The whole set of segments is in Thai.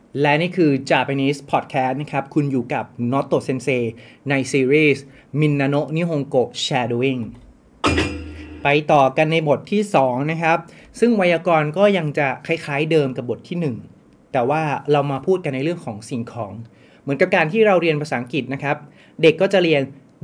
และนี่คือ Japanese Podcast นะครับคุณอยู่กับ Noto Sensei ในซีรีส์ Minano Nihongo Shadowing ไปต่อกันในบทที่2นะครับซึ่งไวยากรณ์ก็ยังจะคล้ายๆเดิมกับบทที่1แต่ว่าเรามาพูดกันในเรื่องของสิ่งของเหมือนกับการที่เราเรียนภาษาอังกฤษนะครับเด็กก็จะเรียน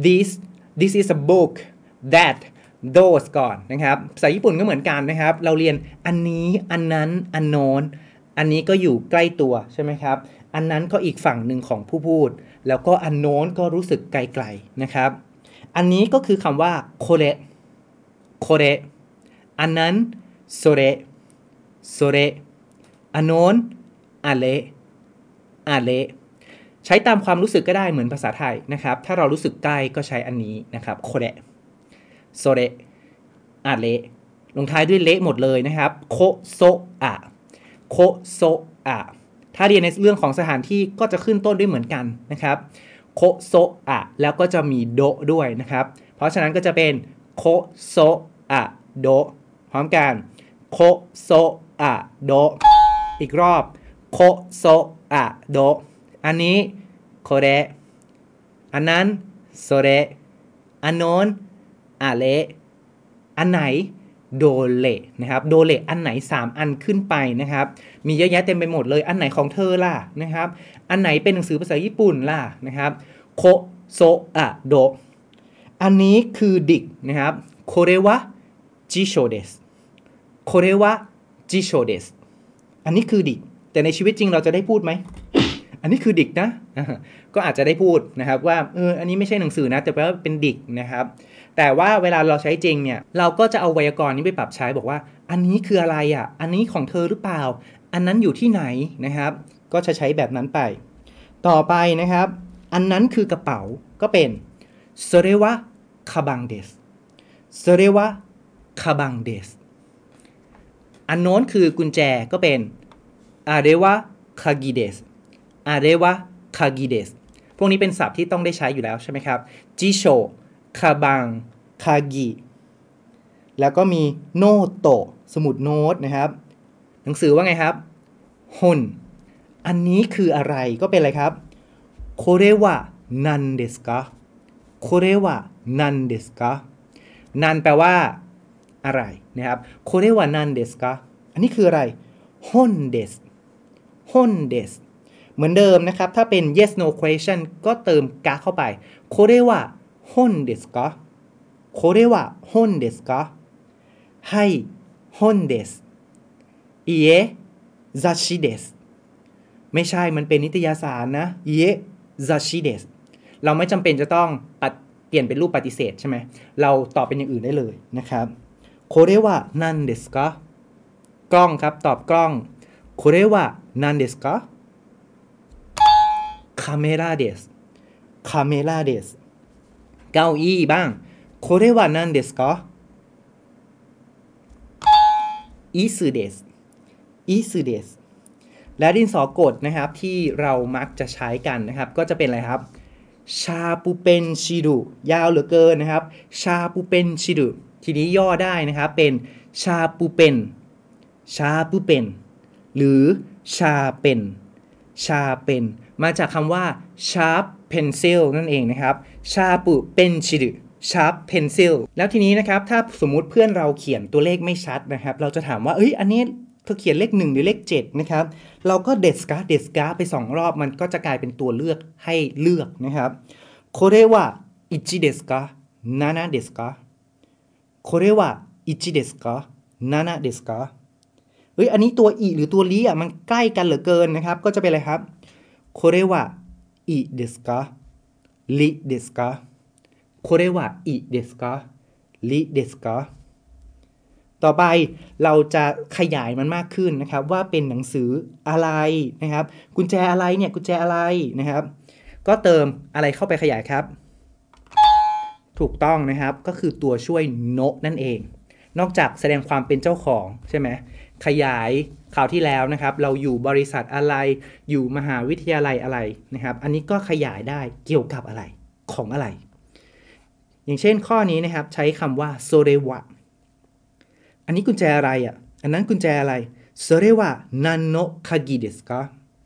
this is a book that those ก่อนนะครับภาษาญี่ปุ่นก็เหมือนกันนะครับเราเรียนอันนี้อันนั้นอันโน้นอันนี้ก็อยู่ใกล้ตัวใช่ไหมครับอันนั้นก็อีกฝั่งหนึ่งของผู้พูดแล้วก็อันโน้นก็รู้สึกไกลๆนะครับอันนี้ก็คือคำว่าโคเรโคเรอันนั้นโซเรโซเรอันโน้นอะเลอะเลใช้ตามความรู้สึกก็ได้เหมือนภาษาไทยนะครับถ้าเรารู้สึกใกล้ก็ใช้อันนี้นะครับโคเรโซเรอะเลลงท้ายด้วยเละหมดเลยนะครับโคโซอะโคโซอะถ้าเรียนในเรื่องของสถานที่ก็จะขึ้นต้นด้วยเหมือนกันนะครับโคโซอะแล้วก็จะมีโดด้วยนะครับเพราะฉะนั้นก็จะเป็นโคโซอะโดพร้อมกันโคโซอะโดอีกรอบโคโซอะโดอันนี้โคเรอันนั้นโซเรอันโน้นอะเลอันไหนโดเลนะครับโดเลอันไหน3อันขึ้นไปนะครับมีเยอะแยะเต็มไปหมดเลยอันไหนของเธอล่ะนะครับอันไหนเป็นหนังสือภาษาญี่ปุ่นล่ะนะครับโคโซอะโดอันนี้คือดิกนะครับโคเรวะจิโชเดสโคเรวะจิโชเดสอันนี้คือดิกแต่ในชีวิตจริงเราจะได้พูดไหมอันนี้คือดิกนะก็อาจจะได้พูดนะครับว่าอันนี้ไม่ใช่หนังสือนะแต่ว่าเป็นดิกนะครับแต่ว่าเวลาเราใช้จริงเนี่ยเราก็จะเอาไวยากรณ์นี้ไปปรับใช้บอกว่าอันนี้คืออะไรอ่ะอันนี้ของเธอหรือเปล่าอันนั้นอยู่ที่ไหนนะครับก็จะใช้แบบนั้นไปต่อไปนะครับอันนั้นคือกระเป๋าก็เป็นそれはカバンですそれはカバンですอันโน้นคือกุญแจก็เป็นあれは鍵ですあれは鍵ですพวกนี้เป็นศัพท์ที่ต้องได้ใช้อยู่แล้วใช่ไหมครับจิโชคาบังคากิแล้วก็มีโนโตะสมุดโน้ตนะครับหนังสือว่าไงครับฮนอันนี้คืออะไรก็เป็นอะไรครับโคเรวะนันเดสกะโคเรวะนันเดสกะนันแปลว่าอะไรนะครับโคเรวะนันเดสกะอันนี้คืออะไรฮนเดสฮนเดสเหมือนเดิมนะครับถ้าเป็น yes no question ก็เติมกะเข้าไปโคเรวะฮนเดสกะโคเรวะฮนเดสกะはい本ですいいえ雑誌ですไม่ใช่มันเป็นนิตยสารนะいいえ雑誌ですเราไม่จำเป็นจะต้องเปลี่ยนเป็นรูปปฏิเสธใช่ไหมเราตอบเป็นอย่างอื่นได้เลยนะครับโคเรวะนันเดสกะกล้องครับตอบกล้องโคเรวะนันเดสกะคาเมราเดสคาเมราเดสเก้าอี้บ้างโคเรวะนันเดสกะอิสึเดสอิสึเดสและดินสอกดนะครับที่เรามักจะใช้กันนะครับก็จะเป็นอะไรครับชาปูเปนชิรุยาวเหลือเกินนะครับชาปูเปนชิรุทีนี้ย่อได้นะครับเป็นชาปูเปนชาปูเปนหรือชาเป็นชาเป็นมาจากคำว่า sharp pencil นั่นเองนะครับชาปูเปนชิรุsharp pencil แล้วทีนี้นะครับถ้าสมมุติเพื่อนเราเขียนตัวเลขไม่ชัดนะครับเราจะถามว่าอันนี้เธอเขียนเลข1หรือเลข7นะครับเราก็เดสกาไป2รอบมันก็จะกลายเป็นตัวเลือกให้เลือกนะครับこれは1ですか7ですかこれは1ですか7ですかอันนี้ตัวอีหรือตัวลีมันใกล้กันเหลือเกินนะครับก็จะเป็นอะไรครับこれは1ですかลิですかこれはいいですかลิですかต่อไปเราจะขยายมันมากขึ้นนะครับว่าเป็นหนังสืออะไรนะครับกุญแจอะไรเนี่ยกุญแจอะไรนะครับก็เติมอะไรเข้าไปขยายครับถูกต้องนะครับก็คือตัวช่วยโนะนั่นเองนอกจากแสดงความเป็นเจ้าของใช่ไหมขยายคราวที่แล้วนะครับเราอยู่บริษัทอะไรอยู่มหาวิทยาลัยอะไรนะครับอันนี้ก็ขยายได้เกี่ยวกับอะไรของอะไรอย่างเช่นข้อนี้นะครับใช้คำว่าโซเรวะอันนี้กุญแจอะไรอ่ะอันนั้นกุญแจอะไรそれは何の鍵ですか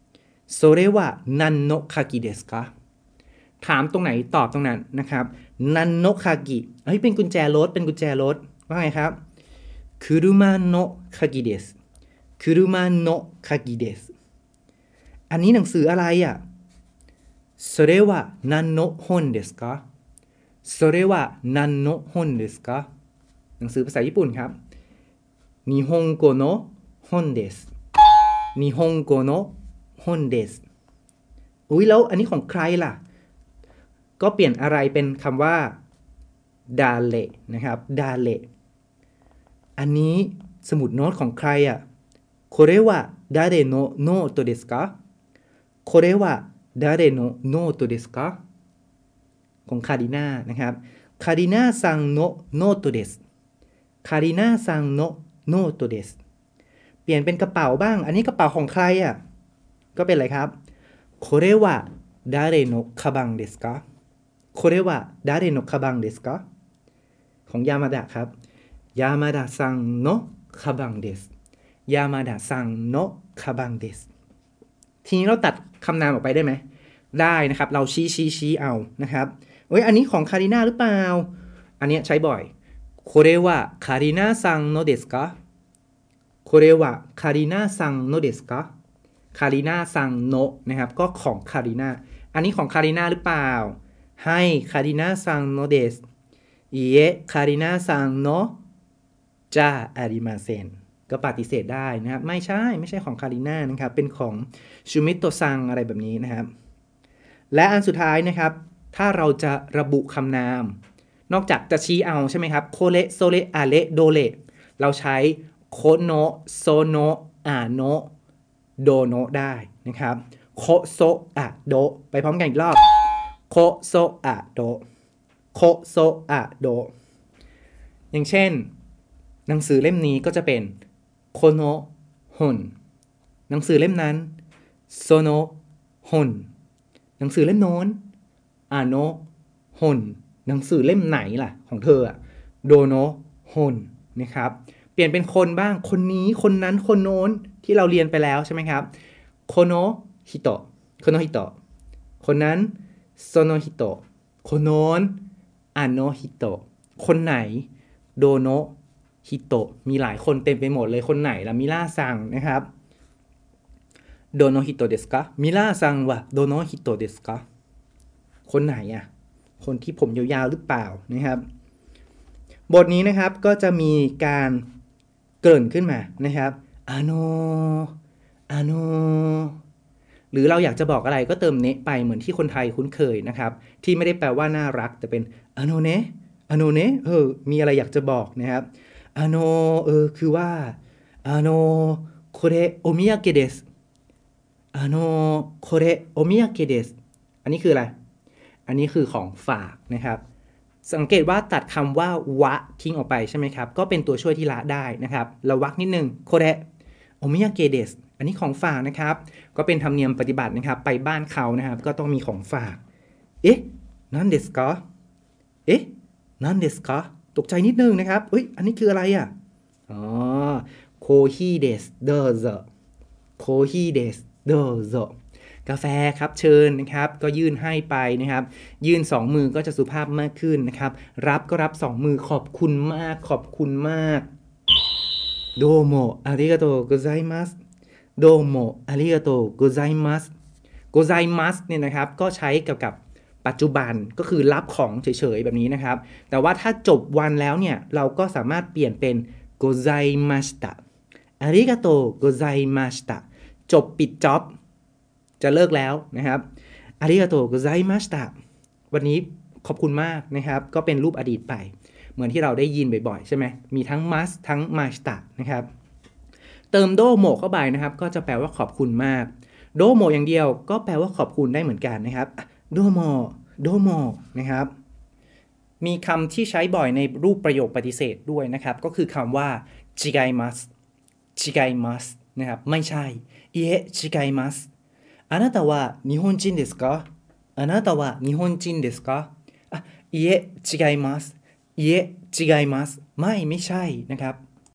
それは何の鍵ですかถามตรงไหนตอบตรงนั้นนะครับนันโนคากิเป็นกุญแจรถเป็นกุญแจรถว่าไงครับคุรุมะโนะคากิเดสคุรุมะโนะคากิเดสอันนี้หนังสืออะไรอ่ะそれは何の本ですかそれは何の本ですかหนังสือภาษาญี่ปุ่นครับ日本語の本です日本語の本ですแล้วอันนี้ของใครล่ะก็เปลี่ยนอะไรเป็นคำว่าดาเลนะครับดาเลอันนี้สมุดโน้ตของใครอ่ะこれは誰のノートですかこれは誰のノートですかของคาริน่านะครับคาริน่าซังโนโนโตเดสคาริน่าซังโนโนโตเดสเปลี่ยนเป็นกระเป๋าบ้างอันนี้กระเป๋าของใครอ่ะก็เป็นอะไรครับこれは誰のカバンですかこれは誰のカバンですかของยามาดะครับยามาดะซังโนคาบังเดสยามาดะซังโนคาบังเดสทีนี้เราตัดคำนามออกไปได้ไหมได้นะครับเราชี้เอานะครับอันนี้ของคาริน่าหรือเปล่าอันนี้ใช้บ่อยこれはカリナさんのですかこれはカリナさんのですかคาริน่าซังโนะนะครับก็ของคาริน่าอันนี้ของคาริน่าหรือเปล่าให้คาริน่าซังโนเดสいいえคาริน่าซังโนะจะอาริมาเซนก็ปฏิเสธได้นะครับไม่ใช่ของคาริน่านะครับเป็นของชูมิโตะซังอะไรแบบนี้นะครับและอันสุดท้ายนะครับถ้าเราจะระบุคำนามนอกจากจะชี้เอาใช่ไหมครับโคเลโซเลอาเลโดเลเราใช้โคโนะโซโนะอาโนะโดโนะได้นะครับโคโซอะโดไปพร้อมกันอีกรอบโคโซอะโดโคโซอะโดอย่างเช่นหนังสือเล่มนี้ก็จะเป็นโคโนะฮอนหนังสือเล่มนั้นโซโนะฮอนหนังสือเล่มโน้นอาโนะฮอนหนังสือเล่มไหนล่ะของเธออะโดโนะฮอนนะครับเปลี่ยนเป็นคนบ้างคนนี้คนนั้นคนโน้นที่เราเรียนไปแล้วใช่ไหมครับโคโนะฮิโตะโคโนะฮิโตะคนนั้นโซโนะฮิโตะคนโน้นอาโนะฮิโตะคนไหนโดโนะฮิโตะมีหลายคนเต็มไปหมดเลยคนไหนล่ะมิล่าซังนะครับโดโนะฮิโตะเดสกะมิล่าซังวะโดโนะฮิโตะเดสกะคนไหนอ่ะคนที่ผมยาวๆหรือเปล่านะครับบทนี้นะครับก็จะมีการเกริ่นขึ้นมานะครับอาโนหรือเราอยากจะบอกอะไรก็เติมเนะไปเหมือนที่คนไทยคุ้นเคยนะครับที่ไม่ได้แปลว่าน่ารักแต่เป็นอาโนเนะมีอะไรอยากจะบอกนะครับอาโนคือว่าอาโนโคเรโอมิยาเกะเดสอาโนโคเรโอมิยาเกะเดสอันนี้คืออะไรอันนี้คือของฝากนะครับสังเกตว่าตัดคำว่าวะทิ้งออกไปใช่ไหมครับก็เป็นตัวช่วยที่ละได้นะครับเราวักนิดนึงโคเรโอมิยาเกะเดสอันนี้ของฝากนะครับก็เป็นธรรมเนียมปฏิบัตินะครับไปบ้านเขานะครับก็ต้องมีของฝากนั่นเดสกะนั่นเดสกะตกใจนิดนึงนะครับอันนี้คืออะไรอ่ะโคฮิเดสเดอโซโคฮิเดสเดอโซกาแฟครับเชิญนะครับก็ยื่นให้ไปนะครับยื่น2มือก็จะสุภาพมากขึ้นนะครับรับก็รับ2มือขอบคุณมากโดโมอาริกาโตโกไซมัสโดโมอาริกาโตโกไซมัสเนี่ยนะครับก็ใช้เกี่ยวกับปัจจุบันก็คือรับของเฉยๆแบบนี้นะครับแต่ว่าถ้าจบวันแล้วเนี่ยเราก็สามารถเปลี่ยนเป็นโกไซมัสตะอาริกาโตโกไซมัสตะจบปิดจ็อบจะเลิกแล้วนะครับอาริกาโตโกไซมัสตะวันนี้ขอบคุณมากนะครับก็เป็นรูปอดีตไปเหมือนที่เราได้ยินบ่อยๆใช่ไหมมีทั้งมัสทั้งมาสตะนะครับเติมโดโมเข้าไปนะครับก็จะแปลว่าขอบคุณมากโดโมอย่างเดียวก็แปลว่าขอบคุณได้เหมือนกันนะครับโดโมนะครับมีคำที่ใช้บ่อยในรูปประโยคปฏิเสธด้วยนะครับก็คือคำว่าจิไกมัสนะครับไม่ใช่จิไกมัสあなたは日本人ですかあなたは日本人ですかいえ違いますไม่ใช่นะครับ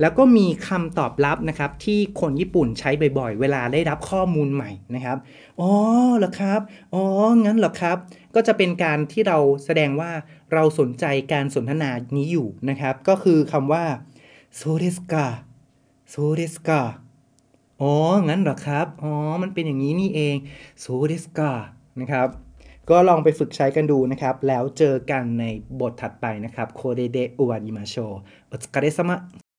แล้วก็มีคำตอบรับนะครับที่คนญี่ปุ่นใช้บ่อยๆเวลาได้รับข้อมูลใหม่นะครับอ๋อเหรอครับอ๋องั้นเหรอครับก็จะเป็นการที่เราแสดงว่าเราสนใจการสนทนานี้อยู่นะครับก็คือคำว่าโซเดสกาโซเดสกาอ๋องั้นเหรอครับอ๋อมันเป็นอย่างนี้นี่เองโซเดสกานะครับก็ลองไปฝึกใช้กันดูนะครับแล้วเจอกันในบทถัดไปนะครับโคเดเดอุวาริมาโชโอつかれ様